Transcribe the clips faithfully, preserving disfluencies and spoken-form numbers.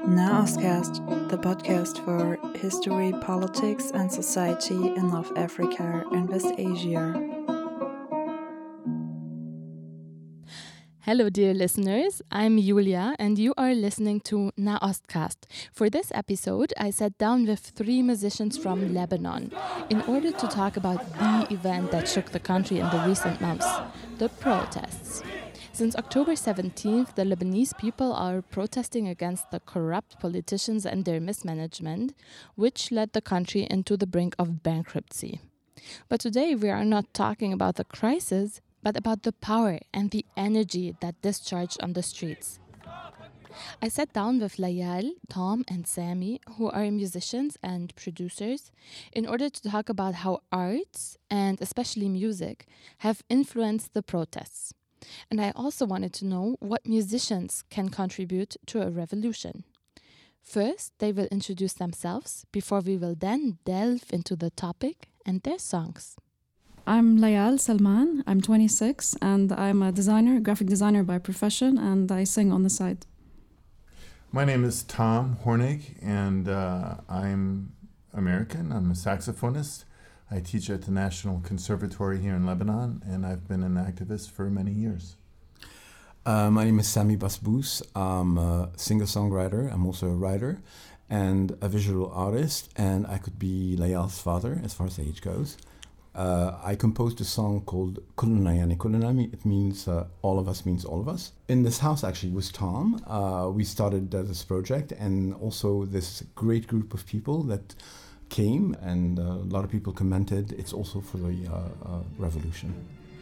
Nahostcast, the podcast for history, politics, and society in North Africa and West Asia. Hello, dear listeners. I'm Julia, and you are listening to Nahostcast. For this episode, I sat down with three musicians from Lebanon in order to talk about the event that shook the country in the recent months, the protests. Since October seventeenth, the Lebanese people are protesting against the corrupt politicians and their mismanagement, which led the country into the brink of bankruptcy. But today we are not talking about the crisis, but about the power and the energy that discharged on the streets. I sat down with Layal, Tom, and Sami, who are musicians and producers, in order to talk about how arts, and especially music, have influenced the protests. And I also wanted to know what musicians can contribute to a revolution. First, they will introduce themselves, before we will then delve into the topic and their songs. I'm Layal Salman, I'm twenty-six, and I'm a designer, graphic designer by profession, and I sing on the side. My name is Tom Hornig, and uh, I'm American. I'm a saxophonist. I teach at the National Conservatory here in Lebanon, and I've been an activist for many years. Uh, my name is Sami Basbous. I'm a singer-songwriter. I'm also a writer and a visual artist, and I could be Layal's father as far as age goes. Uh, I composed a song called Kulluna Yani Kulluna. It means uh, all of us means all of us. In this house, actually, with Tom, uh, we started uh, this project, and also this great group of people that came, and uh, a lot of people commented. It's also for the uh, uh, revolution.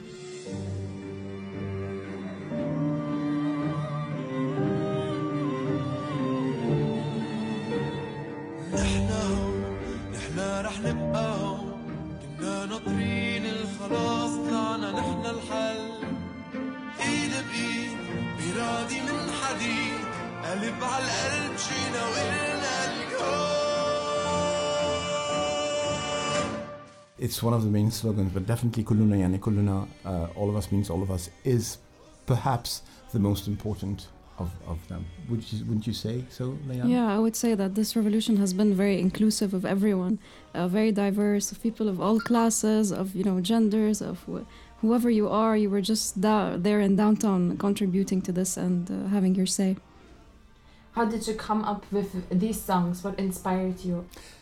It's one of the main slogans, but definitely Kulluna Yani Kulluna, uh, all of us means all of us, is perhaps the most important of, of them. Would you, wouldn't you say so, Layal? Yeah, I would say that this revolution has been very inclusive of everyone, uh, very diverse, of people of all classes, of you know genders, of wh- whoever you are. You were just da- there in downtown contributing to this and uh, having your say. How did you come up with these songs? What inspired you?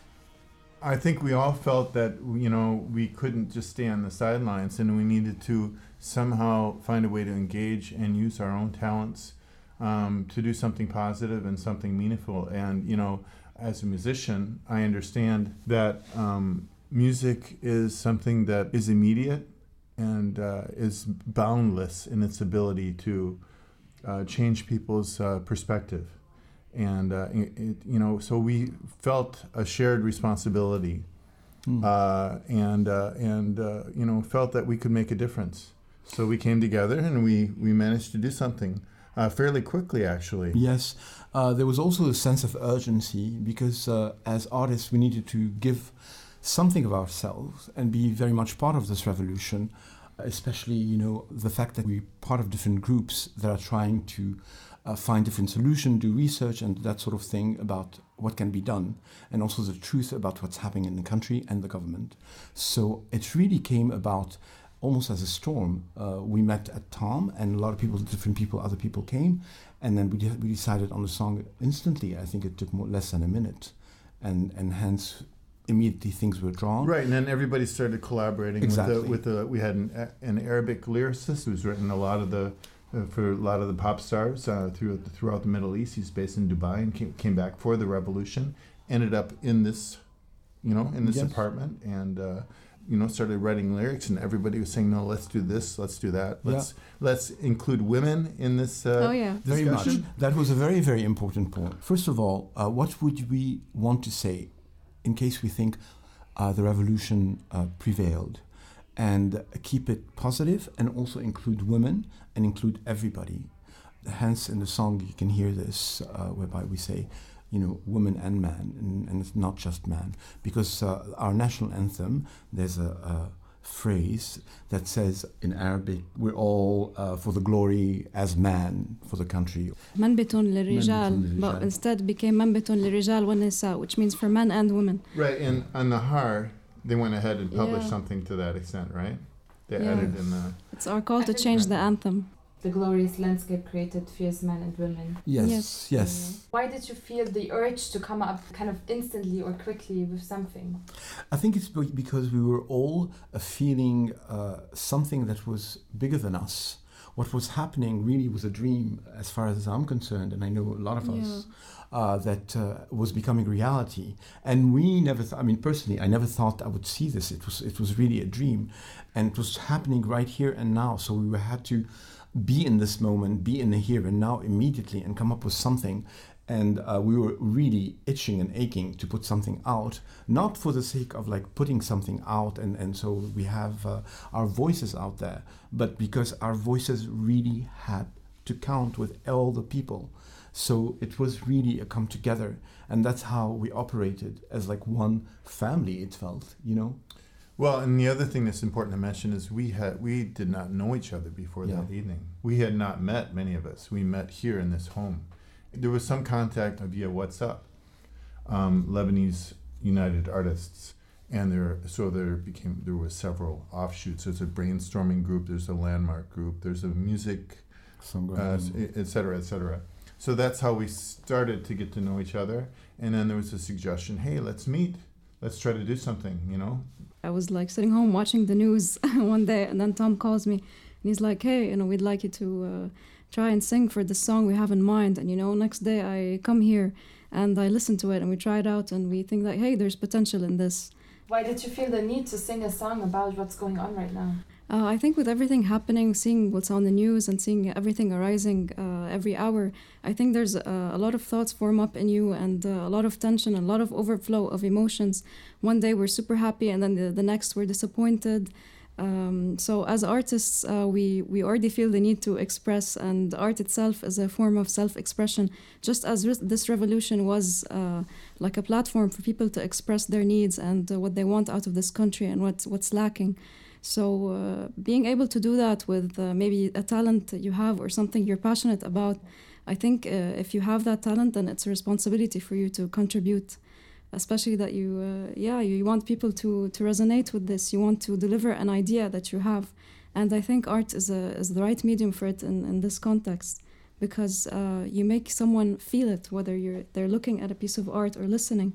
I think we all felt that, you know, we couldn't just stay on the sidelines, and we needed to somehow find a way to engage and use our own talents um, to do something positive and something meaningful. And, you know, as a musician, I understand that um, music is something that is immediate and uh, is boundless in its ability to uh, change people's uh, perspective. And, uh, it, it, you know, so we felt a shared responsibility mm. uh, and, uh, and uh, you know, felt that we could make a difference. So we came together and we, we managed to do something uh, fairly quickly, actually. Yes. Uh, there was also a sense of urgency because uh, as artists, we needed to give something of ourselves and be very much part of this revolution, especially, you know, the fact that we're part of different groups that are trying to Uh, find different solutions, do research and that sort of thing about what can be done, and also the truth about what's happening in the country and the government. So it really came about almost as a storm. Uh, we met at Tom, and a lot of people, different people, other people came, and then we, de- we decided on the song instantly. I think it took more, less than a minute, and, and hence immediately things were drawn. Right, and then everybody started collaborating. Exactly. With the, with the, we had an, an Arabic lyricist who's written a lot of the Uh, for a lot of the pop stars uh, throughout, the, throughout the Middle East. He's based in Dubai and came, came back for the revolution, ended up in this, you know, in this yes. apartment and, uh, you know, started writing lyrics, and everybody was saying, no, let's do this, let's do that. Let's yeah. let's include women in this uh, Oh, yeah. Very much. That was a very, very important point. First of all, uh, what would we want to say in case we think uh, the revolution uh, prevailed? And keep it positive and also include women and include everybody. Hence, in the song, you can hear this, uh, whereby we say, you know, woman and man, and, and it's not just man. Because uh, our national anthem, there's a, a phrase that says in Arabic, we're all uh, for the glory as man for the country. منبت للرجال, للرجال. but instead became منبت للرجال والنساء, which means for men and women. Right, and on Nahar, they went ahead and published Yeah. something to that extent, right? They Yeah. added in the... It's our call to change the anthem. The glorious landscape created fierce men and women. Yes, Yes. yes. Why did you feel the urge to come up kind of instantly or quickly with something? I think it's be- because we were all uh, feeling uh, something that was bigger than us. What was happening really was a dream, as far as I'm concerned, and I know a lot of us, uh, that uh, was becoming reality. And we never, th- I mean, personally, I never thought I would see this. It was, it was really a dream, and it was happening right here and now. So we had to be in this moment, be in the here and now immediately, and come up with something. And uh, we were really itching and aching to put something out, not for the sake of like putting something out and, and so we have uh, our voices out there, but because our voices really had to count with all the people. So it was really a come together, and that's how we operated as like one family, it felt, you know? Well, and the other thing that's important to mention is we had we did not know each other before Yeah. that evening. We had not met, many of us. We met here in this home. There was some contact via WhatsApp, um, Lebanese United Artists, and there so there became there was several offshoots. There's a brainstorming group. There's a landmark group. There's a music, uh, et cetera, et cetera. So that's how we started to get to know each other. And then there was a suggestion: hey, let's meet. Let's try to do something. You know. I was like sitting home watching the news one day, and then Tom calls me, and he's like, "Hey, you know, we'd like you to uh, try and sing for the song we have in mind." And you know, next day I come here and I listen to it, and we try it out, and we think that, hey, there's potential in this. Why did you feel the need to sing a song about what's going on right now? Uh, I think with everything happening, seeing what's on the news and seeing everything arising uh, every hour, I think there's uh, a lot of thoughts form up in you, and uh, a lot of tension, a lot of overflow of emotions. One day we're super happy, and then the, the next we're disappointed. Um, so as artists, uh, we, we already feel the need to express, and art itself is a form of self-expression, just as re- this revolution was uh, like a platform for people to express their needs and uh, what they want out of this country and what's, what's lacking. So uh, being able to do that with uh, maybe a talent that you have or something you're passionate about, I think uh, if you have that talent, then it's a responsibility for you to contribute. Especially that you, uh, yeah, you want people to, to resonate with this. You want to deliver an idea that you have, and I think art is a is the right medium for it in, in this context, because uh, you make someone feel it, whether you're they're looking at a piece of art or listening.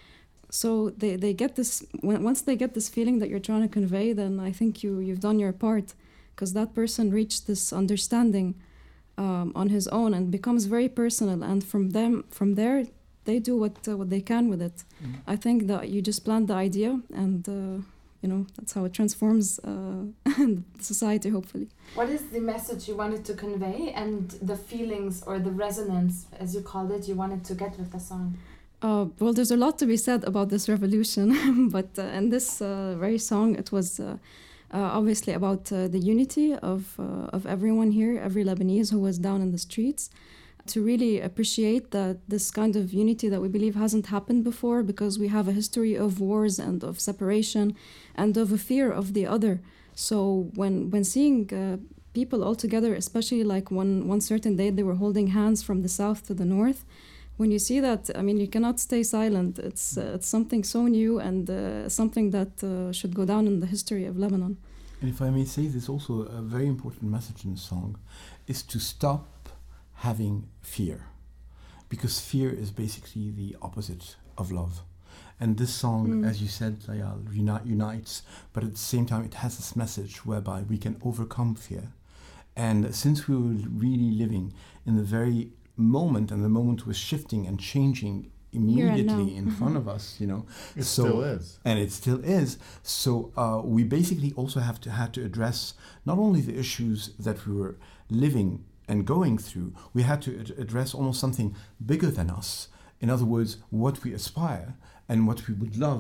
So they, they get this when, once they get this feeling that you're trying to convey, then I think you you've done your part, because that person reached this understanding um, on his own and becomes very personal, and from them from there. They do what uh, what they can with it. Mm. I think that you just plant the idea, and uh, you know that's how it transforms uh, society. Hopefully. What is the message you wanted to convey, and the feelings or the resonance, as you called it, you wanted to get with the song? Uh, well, there's a lot to be said about this revolution, but uh, in this uh, very song, it was uh, uh, obviously about uh, the unity of uh, of everyone here, every Lebanese who was down in the streets. To really appreciate that this kind of unity that we believe hasn't happened before, because we have a history of wars and of separation and of a fear of the other. So when when seeing uh, people all together, especially like one, one certain day they were holding hands from the south to the north, when you see that, I mean, you cannot stay silent. It's, uh, it's something so new, and uh, something that uh, should go down in the history of Lebanon. And if I may say, there's also a very important message in the song, is to stop having fear, because fear is basically the opposite of love. And this song, mm. as you said, Layal, uni- unites, but at the same time it has this message whereby we can overcome fear. And since we were really living in the very moment, and the moment was shifting and changing immediately in mm-hmm. front of us, you know. It so, still is. And it still is. So uh, we basically also have to had to address not only the issues that we were living and going through, we had to ad- address almost something bigger than us. In other words, what we aspire and what we would love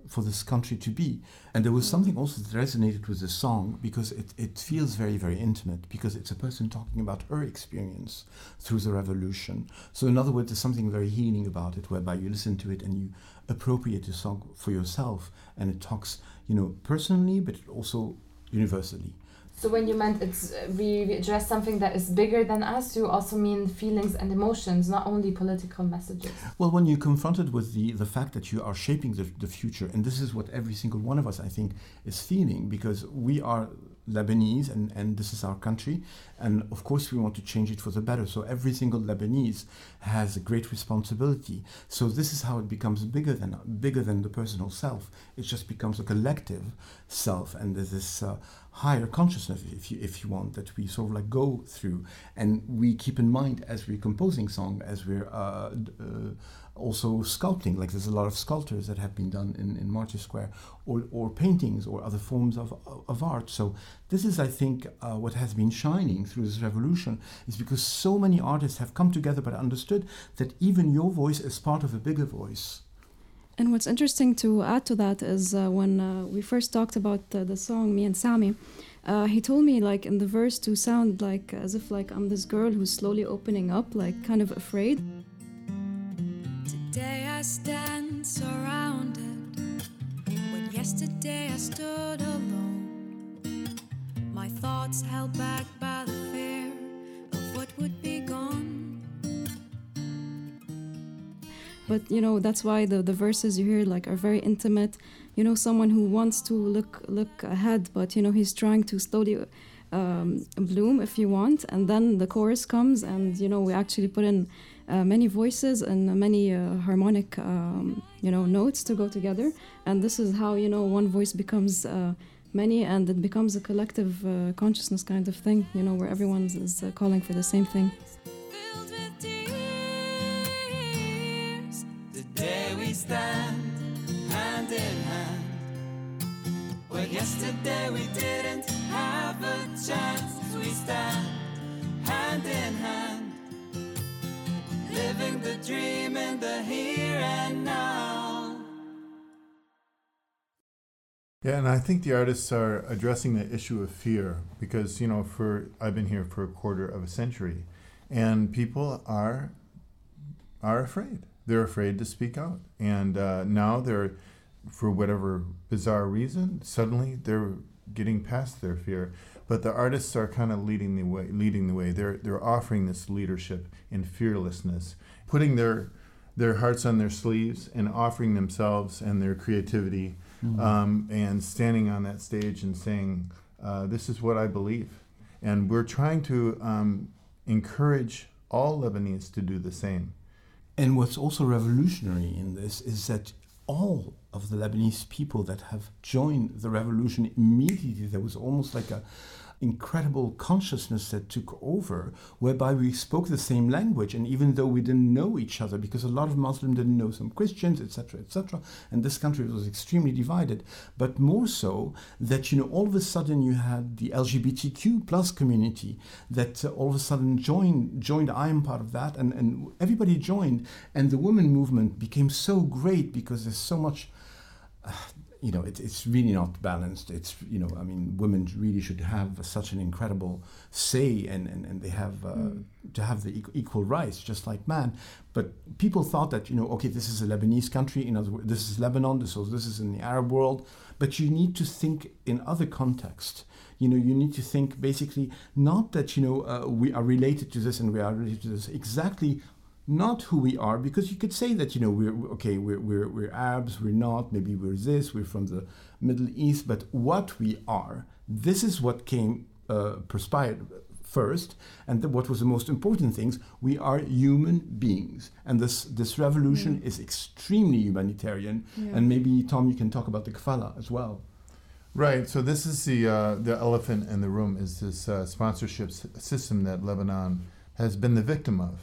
for this country to be. And there was something also that resonated with the song because it, it feels very, very intimate because it's a person talking about her experience through the revolution. So in other words, there's something very healing about it, whereby you listen to it and you appropriate the song for yourself, and it talks, you know, personally, but also universally. So when you meant it's uh, we, we address something that is bigger than us, you also mean feelings and emotions, not only political messages. Well, when you're confronted with the, the fact that you are shaping the, the future, and this is what every single one of us, I think, is feeling, because we are Lebanese and, and this is our country, and of course we want to change it for the better. So every single Lebanese has a great responsibility. So this is how it becomes bigger than bigger than the personal self. It just becomes a collective self, and there's this uh, higher consciousness, if you if you want, that we sort of like go through, and we keep in mind as we're composing song, as we're uh, uh, also sculpting. Like there's a lot of sculptures that have been done in, in Martyrs Square, or, or paintings or other forms of, of art. So this is, I think, uh, what has been shining through this revolution, is because so many artists have come together but understood that even your voice is part of a bigger voice. And what's interesting to add to that is uh, when uh, we first talked about uh, the song, me and Sami, uh, he told me, like, in the verse to sound like as if like I'm this girl who's slowly opening up, like kind of afraid. Today I stand surrounded, when yesterday I stood alone. My thoughts held back by the fear of what would be gone. But, you know, that's why the, the verses you hear, like, are very intimate. You know, someone who wants to look look ahead, but, you know, he's trying to slowly um, bloom, if you want. And then the chorus comes, and, you know, we actually put in uh, many voices and many uh, harmonic, um, you know, notes to go together. And this is how, you know, one voice becomes uh, many, and it becomes a collective uh, consciousness kind of thing, you know, where everyone is uh, calling for the same thing. Filled with tears, today we stand hand in hand, where yesterday we didn't have a chance. We stand hand in hand, living the dream in the here and now. Yeah, and I think the artists are addressing the issue of fear because, you know, for I've been here for a quarter of a century, and people are are afraid. They're afraid to speak out, and uh, now they're, for whatever bizarre reason, suddenly they're getting past their fear. But the artists are kind of leading the way. Leading the way. They're they're offering this leadership in fearlessness, putting their their hearts on their sleeves and offering themselves and their creativity, mm-hmm. um, and standing on that stage and saying, uh, "This is what I believe," and we're trying to um, encourage all Lebanese to do the same. And what's also revolutionary in this is that all of the Lebanese people that have joined the revolution immediately, there was almost like a incredible consciousness that took over, whereby we spoke the same language, and even though we didn't know each other, because a lot of Muslims didn't know some Christians, et cetera, et cetera, and this country was extremely divided. But more so that, you know, all of a sudden you had the L G B T Q plus community that uh, all of a sudden joined. Joined. I am part of that, and and everybody joined, and the women movement became so great because there's so much. Uh, You know, it, it's really not balanced. It's, you know, I mean, women really should have such an incredible say, and, and, and they have uh, mm. to have the equal, equal rights, just like man. But people thought that, you know, okay, this is a Lebanese country. In other words, this is Lebanon. This is this is in the Arab world. But you need to think in other contexts. You know, you need to think basically not that, you know, uh, we are related to this and we are related to this exactly. Not who we are, because you could say that, you know, we're okay, we're we're we're Arabs, we're not, maybe we're this, we're from the Middle East, but what we are, this is what came uh, perspired first, and the, what was the most important things, we are human beings, and this this revolution mm. is extremely humanitarian, yeah. And maybe Tom, you can talk about the kafala as well. Right. So this is the uh, the elephant in the room, is this uh, sponsorship s- system that Lebanon has been the victim of.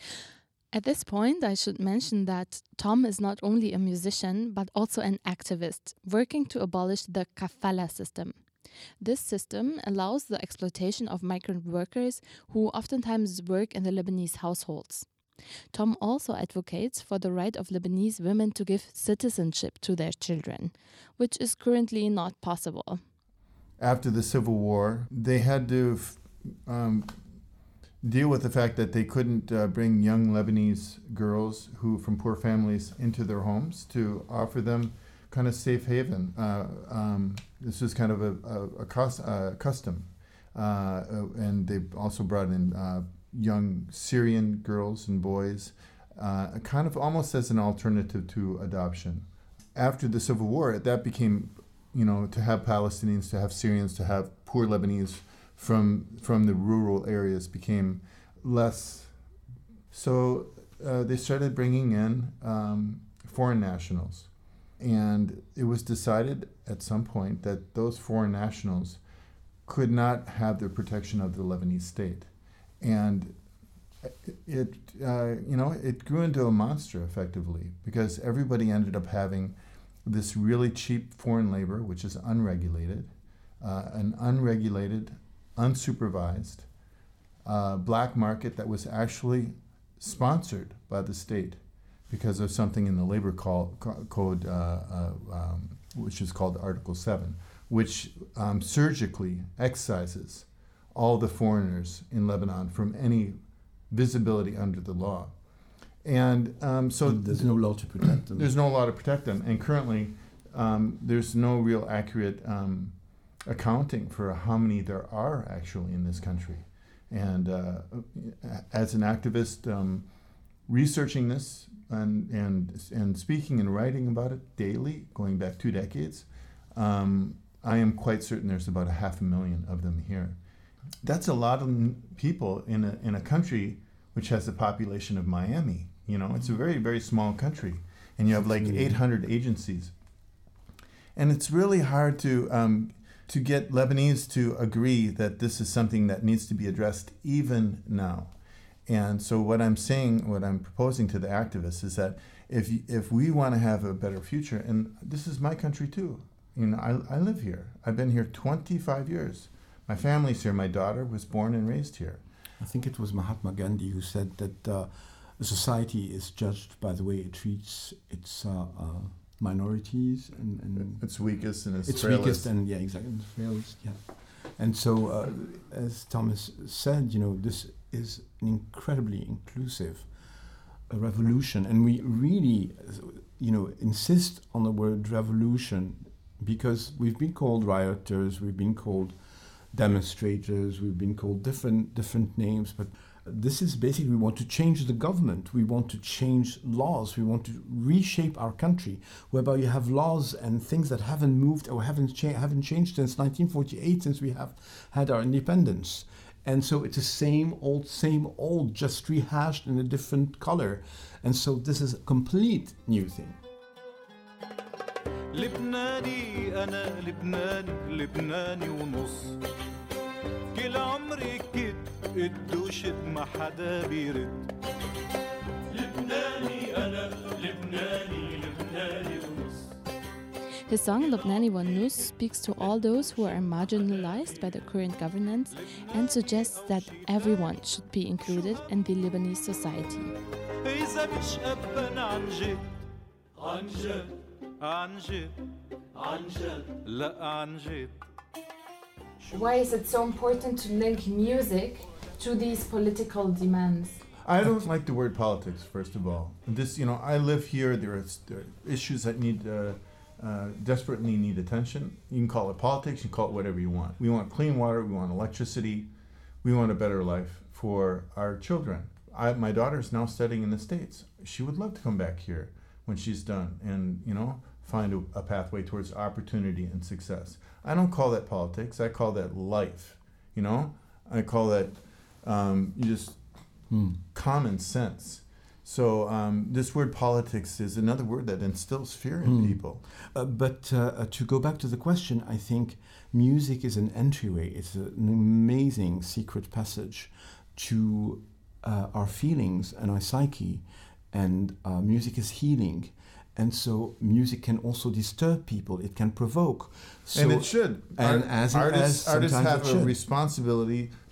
At this point, I should mention that Tom is not only a musician, but also an activist, working to abolish the kafala system. This system allows the exploitation of migrant workers who oftentimes work in the Lebanese households. Tom also advocates for the right of Lebanese women to give citizenship to their children, which is currently not possible. After the Civil War, they had to um, deal with the fact that they couldn't uh, bring young Lebanese girls who from poor families into their homes to offer them kind of safe haven. Uh, um, this was kind of a, a, a cost, uh, custom. Uh, and they also brought in uh, young Syrian girls and boys, uh, kind of almost as an alternative to adoption. After the Civil War, that became, you know, to have Palestinians, to have Syrians, to have poor Lebanese from from the rural areas became less. So uh, they started bringing in um, foreign nationals. And it was decided at some point that those foreign nationals could not have the protection of the Lebanese state. And it, uh, you know, it grew into a monster effectively, because everybody ended up having this really cheap foreign labor, which is unregulated, uh, an unregulated, unsupervised uh, black market that was actually sponsored by the state because of something in the labor call, co- code, uh, uh, um, which is called Article seven, which um, surgically excises all the foreigners in Lebanon from any visibility under the law. And um, so and there's no law to protect them. There's no law to protect them. And currently, um, there's no real accurate um, accounting for how many there are actually in this country. And uh, as an activist, um, researching this and, and, and speaking and writing about it daily, going back two decades, um, I am quite certain there's about a half a million of them here. That's a lot of people in a in a country which has a population of Miami. You know, it's a very, very small country. And you have like eight hundred agencies. And it's really hard to um, to get Lebanese to agree that this is something that needs to be addressed even now. And so what I'm saying, what I'm proposing to the activists is that if if we want to have a better future, and this is my country too. You know, I, I live here. I've been here twenty-five years. My family's here. My daughter was born and raised here. I think it was Mahatma Gandhi who said that uh, a society is judged by the way it treats its uh, uh, minorities and, and its weakest and its, its frailest. weakest and yeah, exactly, its frailest. Yeah, and so uh, as Thomas said, you know, this is an incredibly inclusive uh, revolution, and we really, you know, insist on the word revolution because we've been called rioters, we've been called demonstrators, we've been called different different names, but this is basically we want to change the government, we want to change laws, we want to reshape our country, whereby you have laws and things that haven't moved or haven't, cha- haven't changed since nineteen forty-eight, since we have had our independence. And so it's the same old, same old, just rehashed in a different color. And so this is a complete new thing. لبناني أنا لبناني لبناني ونص كل عمري كد قد وشد ما حدا بيرد لبناني أنا لبناني لبناني ونص. His song Lubnani Wa Nus speaks to all those who are marginalized by the current governance and suggests that everyone should be included in the Lebanese society. إذا مش أبا عن جد عن جد عن جد عن جد لا عن جد. Why is it so important to link music to these political demands? I don't like the word politics, first of all. This, you know, I live here. There are, there are issues that need, uh, uh, desperately need attention. You can call it politics, you can call it whatever you want. We want clean water, we want electricity, we want a better life for our children. I, my daughter is now studying in the States. She would love to come back here when she's done and, you know, find a, a pathway towards opportunity and success. I don't call that politics, I call that life, you know? I call that um, just hmm. common sense. So um, this word politics is another word that instills fear in hmm. people. Uh, but uh, to go back to the question, I think music is an entryway. It's an amazing secret passage to uh, our feelings and our psyche. And uh, music is healing. And so music can also disturb people. It can provoke. So, and it should. And Art, as artists, as artists have a should. responsibility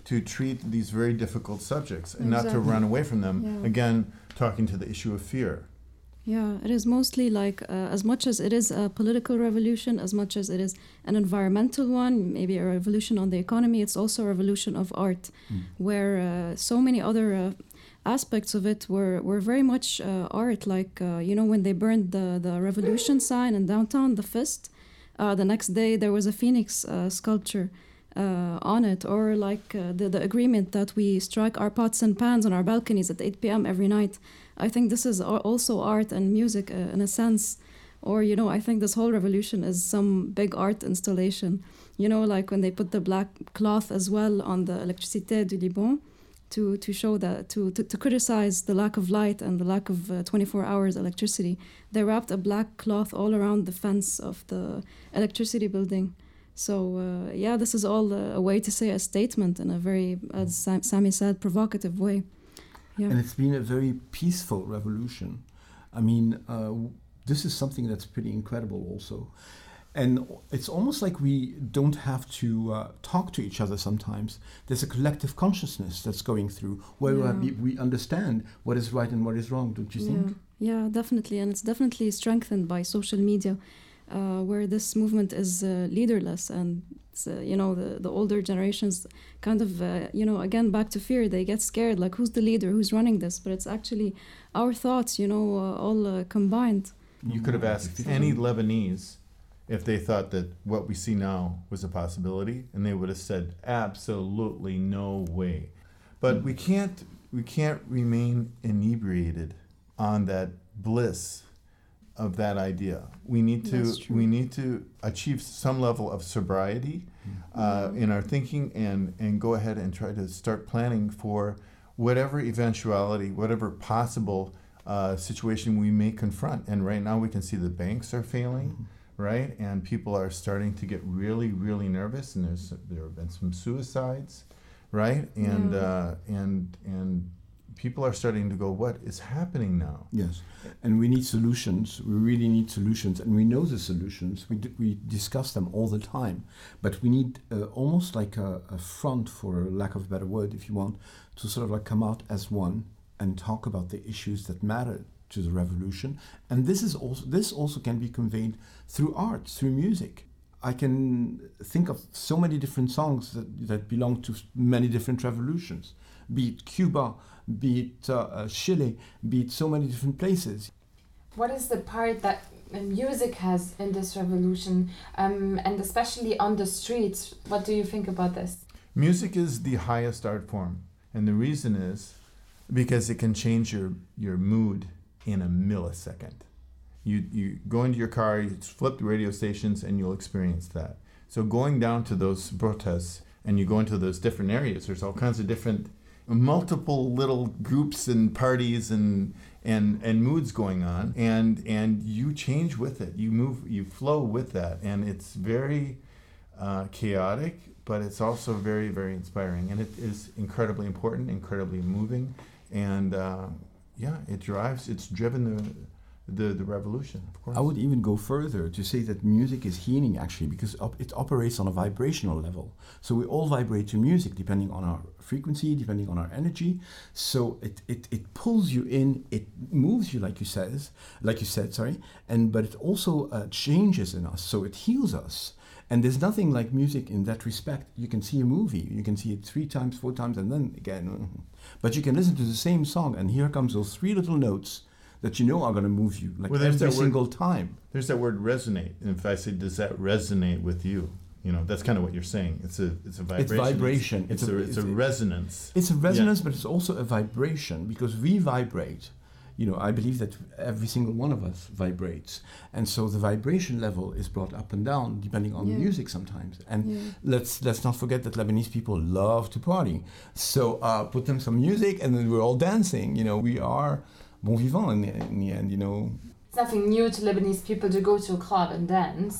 to treat these very difficult subjects and not to Exactly. run away from them. Yeah. Again, talking to the issue of fear. Yeah, it is mostly like, uh, as much as it is a political revolution, as much as it is an environmental one, maybe a revolution on the economy, it's also a revolution of art, Mm. where uh, so many other uh, aspects of it were, were very much uh, art. Like, uh, you know, when they burned the, the revolution sign in downtown, the fist, uh, the next day there was a phoenix uh, sculpture uh, on it, or like uh, the, the agreement that we strike our pots and pans on our balconies at eight p.m. every night. I think this is al- also art and music uh, in a sense. Or, you know, I think this whole revolution is some big art installation. You know, like when they put the black cloth as well on the Électricité du Liban to, to show that, to, to, to criticize the lack of light and the lack of uh, twenty-four hours electricity. They wrapped a black cloth all around the fence of the electricity building. So, uh, yeah, this is all a, a way to say a statement in a very, as Sam- Sami said, provocative way. Yeah. And it's been a very peaceful revolution. I mean, uh, w- this is something that's pretty incredible also. And it's almost like we don't have to uh, talk to each other sometimes. There's a collective consciousness that's going through where Yeah. we, we understand what is right and what is wrong, don't you Yeah, think? yeah, definitely. And it's definitely strengthened by social media, uh, where this movement is uh, leaderless. And, it's, uh, you know, the, the older generations kind of, uh, you know, again, back to fear. They get scared, like, who's the leader? Who's running this? But it's actually our thoughts, you know, uh, all uh, combined. You could have asked any Lebanese if they thought that what we see now was a possibility, and they would have said, absolutely no way. But we can't, we can't remain inebriated on that bliss of that idea. We need to, That's true. we need to achieve some level of sobriety uh, in our thinking, and, and go ahead and try to start planning for whatever eventuality, whatever possible uh, situation we may confront. And right now we can see the banks are failing, right? And people are starting to get really, really nervous, and there's there have been some suicides, right? And Yeah. uh, and and people are starting to go, what is happening now? Yes, and we need solutions. We really need solutions, and we know the solutions. We d- we discuss them all the time, but we need uh, almost like a, a front, for lack of a better word, if you want, to sort of like come out as one and talk about the issues that matter to the revolution. And this is also this also can be conveyed through art, through music. I can think of so many different songs that, that belong to many different revolutions, be it Cuba, be it uh, uh, Chile, be it so many different places. What is the part that uh, music has in this revolution, um, and especially on the streets? What do you think about this? Music is the highest art form, and the reason is because it can change your, your mood in a millisecond. You you go into your car, you flip the radio stations, and you'll experience that. So going down to those protests, and you go into those different areas, there's all kinds of different, multiple little groups and parties and and and moods going on, and and you change with it. You move, you flow with that, and it's very uh, chaotic, but it's also very, very inspiring, and it is incredibly important, incredibly moving, and uh, yeah, it drives. It's driven the. The, the revolution, of course. I would even go further to say that music is healing, actually, because op- it operates on a vibrational level. So we all vibrate to music depending on our frequency, depending on our energy. So it, it, it pulls you in, it moves you, like you says, like you said, sorry, and but it also uh, changes in us. So it heals us. And there's nothing like music in that respect. You can see a movie, you can see it three times, four times, and then again. But you can listen to the same song, and here comes those three little notes that you know are going to move you, like Well, there's every that word- single time. There's that word resonate, and if I say, does that resonate with you? You know, that's kind of what you're saying. It's a it's a vibration. vibration. It's, It's a, a- it's a it's a- resonance. It's a resonance, but it's also a vibration, because we vibrate. You know, I believe that every single one of us vibrates. And so the vibration level is brought up and down depending on Yeah. the music sometimes. And Yeah. let's let's not forget that Lebanese people love to party. So uh, put them some music and then we're all dancing. You know, we are bon vivant in the, in the end, you know. It's nothing new to Lebanese people to go to a club and dance,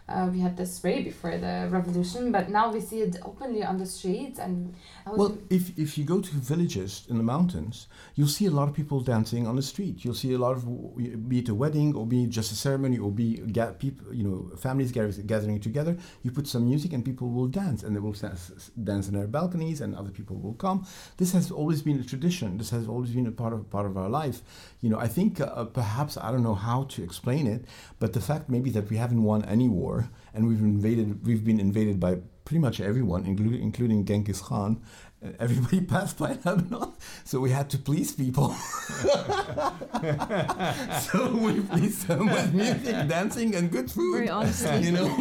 uh, we had this way before the revolution, but now we see it openly on the streets. And well, if if you go to villages in the mountains, you'll see a lot of people dancing on the street. You'll see a lot of, be it a wedding or be it just a ceremony or be ga- people, you know, families gathering together. You put some music and people will dance, and they will dance in their balconies, and other people will come. This has always been a tradition. This has always been a part of part of our life. You know, I think uh, perhaps I don't know how to explain it, but the fact maybe that we haven't won any war. And we've invaded. We've been invaded by pretty much everyone, including including Genghis Khan. Uh, everybody passed by Lebanon, so we had to please people. So we pleased them with music, dancing, and good food. Very honestly, you know.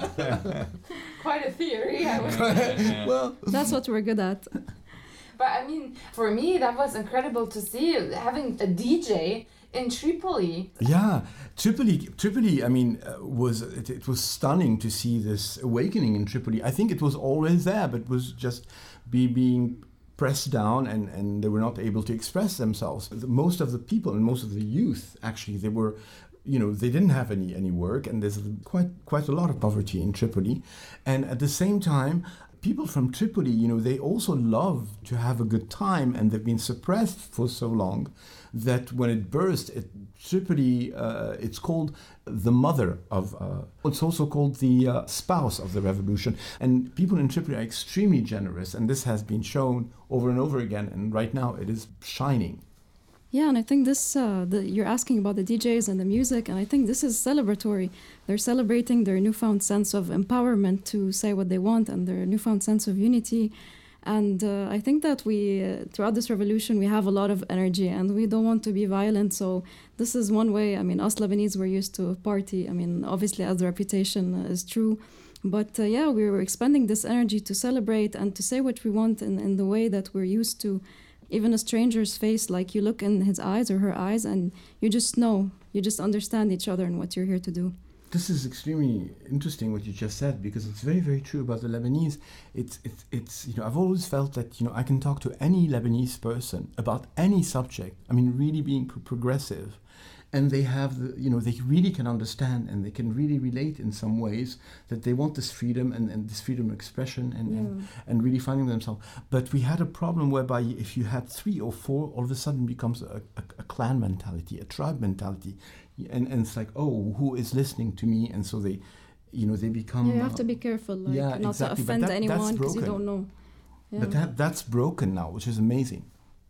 Quite a theory, I would say. Well, that's what we're good at. But I mean, for me, that was incredible to see having a D J in Tripoli. Yeah, Tripoli. Tripoli. I mean, uh, was it, it was stunning to see this awakening in Tripoli. I think it was always there, but it was just be being pressed down, and, and they were not able to express themselves. The, most of the people and most of the youth, actually, they were, you know, they didn't have any any work, and there's quite quite a lot of poverty in Tripoli, and at the same time, people from Tripoli, you know, they also love to have a good time, and they've been suppressed for so long that when it burst, it, Tripoli, uh, it's called the mother of, uh, it's also called the uh, spouse of the revolution. And people in Tripoli are extremely generous, and this has been shown over and over again, and right now it is shining. Yeah, and I think this, uh, the, you're asking about the D Js and the music, and I think this is celebratory. They're celebrating their newfound sense of empowerment to say what they want and their newfound sense of unity. And uh, I think that we, uh, throughout this revolution, we have a lot of energy and we don't want to be violent. So this is one way. I mean, us Lebanese, we're used to party. I mean, obviously, as the reputation uh, is true. But uh, yeah, we were expending this energy to celebrate and to say what we want in, in the way that we're used to. Even a stranger's face, like you look in his eyes or her eyes and you just know, you just understand each other and what you're here to do. This is extremely interesting what you just said, because it's very, very true about the Lebanese. It's, it's, it's, you know, I've always felt that, you know, I can talk to any Lebanese person about any subject. I mean, really being pro- progressive. And they have, the, you know, they really can understand and they can really relate in some ways that they want this freedom and, and this freedom of expression and, yeah. and, and really finding themselves. But we had a problem whereby if you had three or four, all of a sudden becomes a, a, a clan mentality, a tribe mentality. And, and it's like, oh, who is listening to me? And so they, you know, they become... Yeah, you have uh, to be careful, like, yeah, not exactly. to offend that, anyone because you don't know. Yeah. But that, that's broken now, which is amazing.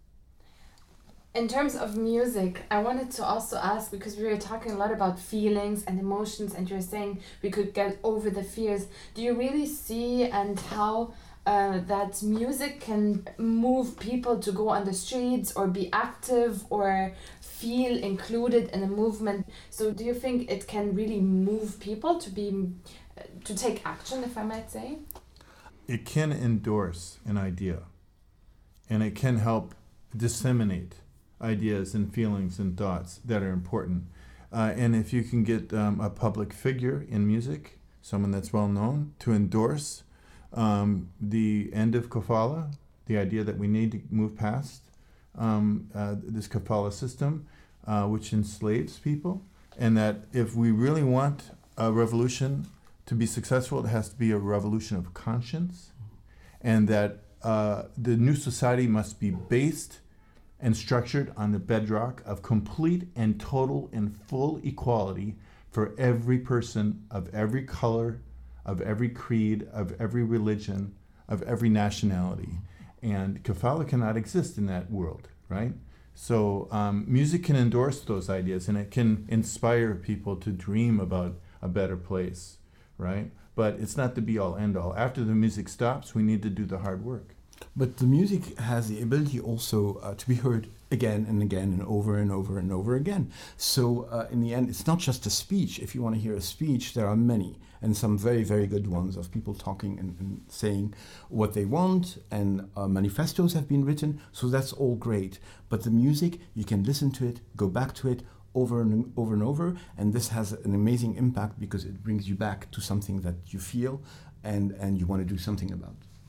In terms of music, I wanted to also ask, because we were talking a lot about feelings and emotions, and you're saying we could get over the fears. Do you really see and how uh, that music can move people to go on the streets or be active or feel included in a movement? So do you think it can really move people to be, to take action, if I might say? It can endorse an idea, and it can help disseminate ideas and feelings and thoughts that are important. Uh, and if you can get um, a public figure in music, someone that's well known, to endorse um, the end of kafala, the idea that we need to move past um, uh, this kafala system, uh, which enslaves people, and that if we really want a revolution to be successful, it has to be a revolution of conscience, and that uh, the new society must be based and structured on the bedrock of complete and total and full equality for every person of every color, of every creed, of every religion, of every nationality. And kafala cannot exist in that world, right? So um, music can endorse those ideas, and it can inspire people to dream about a better place, right? But it's not the be-all, end-all. After the music stops, we need to do the hard work. But the music has the ability also uh, to be heard again and again and over and over and over again. So uh, in the end, it's not just a speech. If you want to hear a speech, there are many, and some very, very good ones of people talking and, and saying what they want, and uh, manifestos have been written, so that's all great. But the music, you can listen to it, go back to it over and over and over, and this has an amazing impact because it brings you back to something that you feel and, and you want to do something about.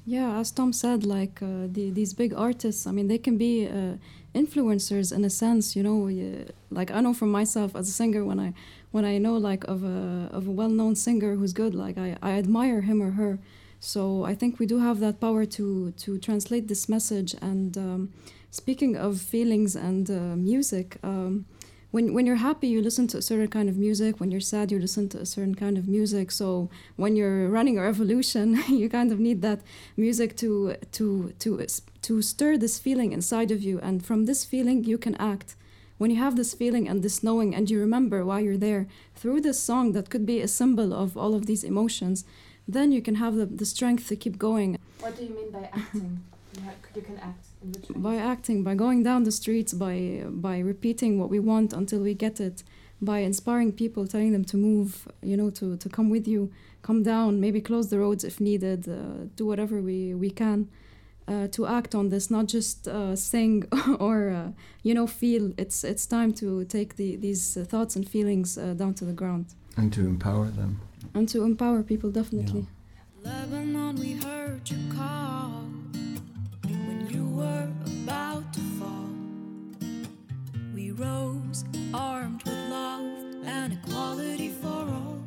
Yeah, as Tom said, like uh, the, these big artists, I mean, they can be uh, influencers in a sense, you know. Uh, like I know from myself as a singer, when I when I know like of a of a well-known singer who's good, like I, I admire him or her. So I think we do have that power to to translate this message. And um, speaking of feelings and uh, music. Um, When when you're happy, you listen to a certain kind of music. When you're sad, you listen to a certain kind of music. So when you're running a revolution, you kind of need that music to to to to stir this feeling inside of you. And from this feeling, you can act. When you have this feeling and this knowing, and you remember why you're there through this song that could be a symbol of all of these emotions, then you can have the, the strength to keep going. What do you mean by acting? You can act in which way? By acting, by going down the streets, by by repeating what we want until we get it, by inspiring people, telling them to move, you know, to, to come with you, come down, maybe close the roads if needed, uh, do whatever we, we can uh, to act on this, not just uh, sing or, uh, you know, feel. It's it's time to take the, these uh, thoughts and feelings uh, down to the ground. And to empower them. And to empower people, definitely. Yeah. Lebanon, we heard you call when you were about to fall. We rose armed with love and equality for all.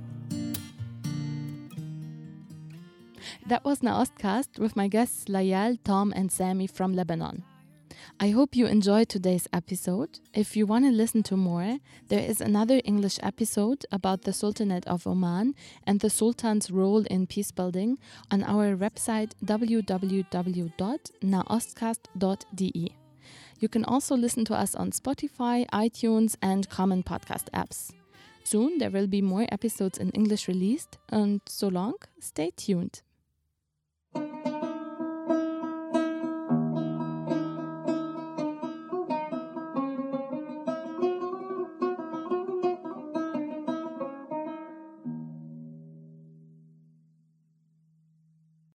That was Naostcast with my guests Layal, Tom and Sami from Lebanon. I hope you enjoyed today's episode. If you want to listen to more, there is another English episode about the Sultanate of Oman and the Sultan's role in peace building on our website w w w dot naostcast dot d e. You can also listen to us on Spotify, iTunes and common podcast apps. Soon there will be more episodes in English released, and so long, stay tuned.